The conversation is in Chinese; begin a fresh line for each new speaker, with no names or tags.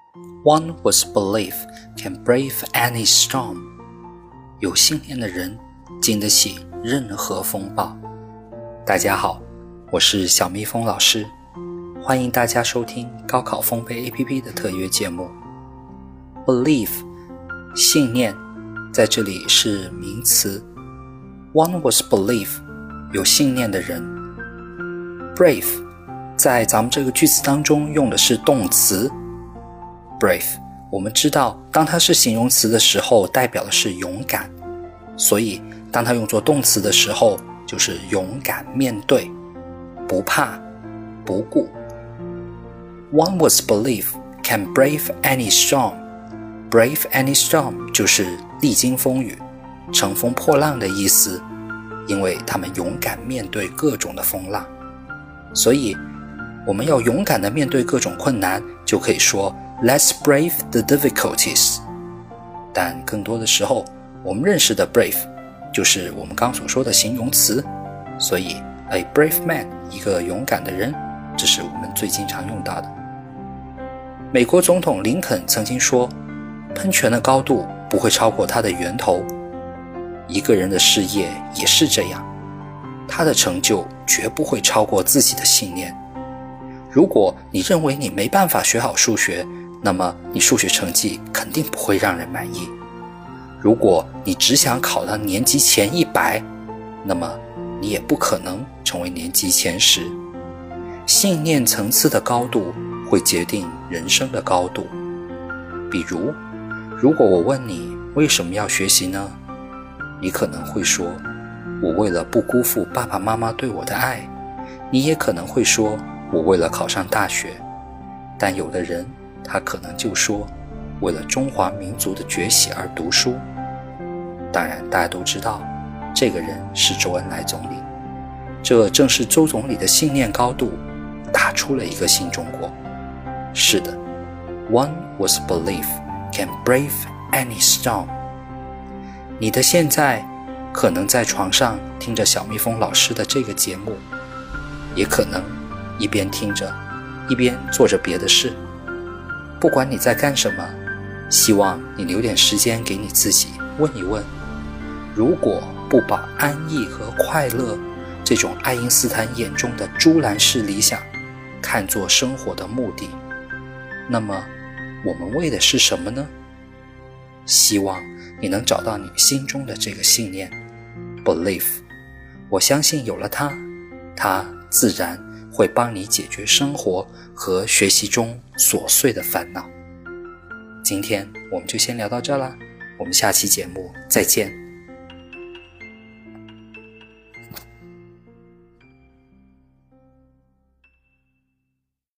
One with belief can brave any storm. 有信念的人经得起任何风暴。大家好，我是小蜜蜂老师，欢迎大家收听高考丰沛 APP 的特约节目。Belief 信念在这里是名词。One with belief 有信念的人。Brave 在咱们这个句子当中用的是动词。Brave 我们知道当它是形容词的时候代表的是勇敢，所以当它用作动词的时候就是勇敢面对，不怕不顾。One with belief can brave any storm. Brave any storm 就是历经风雨，乘风破浪的意思，因为他们勇敢面对各种的风浪。所以我们要勇敢地面对各种困难，就可以说 Let's brave the difficulties. 但更多的时候我们认识的 brave 就是我们刚所说的形容词，所以 a brave man 一个勇敢的人，这是我们最经常用到的。美国总统林肯曾经说，喷泉的高度不会超过它的源头。一个人的事业也是这样，他的成就绝不会超过自己的信念。如果你认为你没办法学好数学，那么你数学成绩肯定不会让人满意。如果你只想考到年级前100，那么你也不可能成为年级前10。信念层次的高度会决定人生的高度。比如，如果我问你为什么要学习呢？你可能会说，我为了不辜负爸爸妈妈对我的爱。你也可能会说，我为了考上大学。但有的人他可能就说，为了中华民族的崛起而读书。当然大家都知道，这个人是周恩来总理。这正是周总理的信念高度打出了一个新中国。是的， One with belief can brave any storm. 你的现在可能在床上听着小蜜蜂老师的这个节目，也可能一边听着一边做着别的事。不管你在干什么，希望你留点时间给你自己问一问，如果不把安逸和快乐这种爱因斯坦眼中的猪栏式理想看作生活的目的，那么我们为的是什么呢？希望你能找到你心中的这个信念 Belief。 我相信有了它自然会帮你解决生活和学习中琐碎的烦恼。今天我们就先聊到这啦，我们下期节目再见。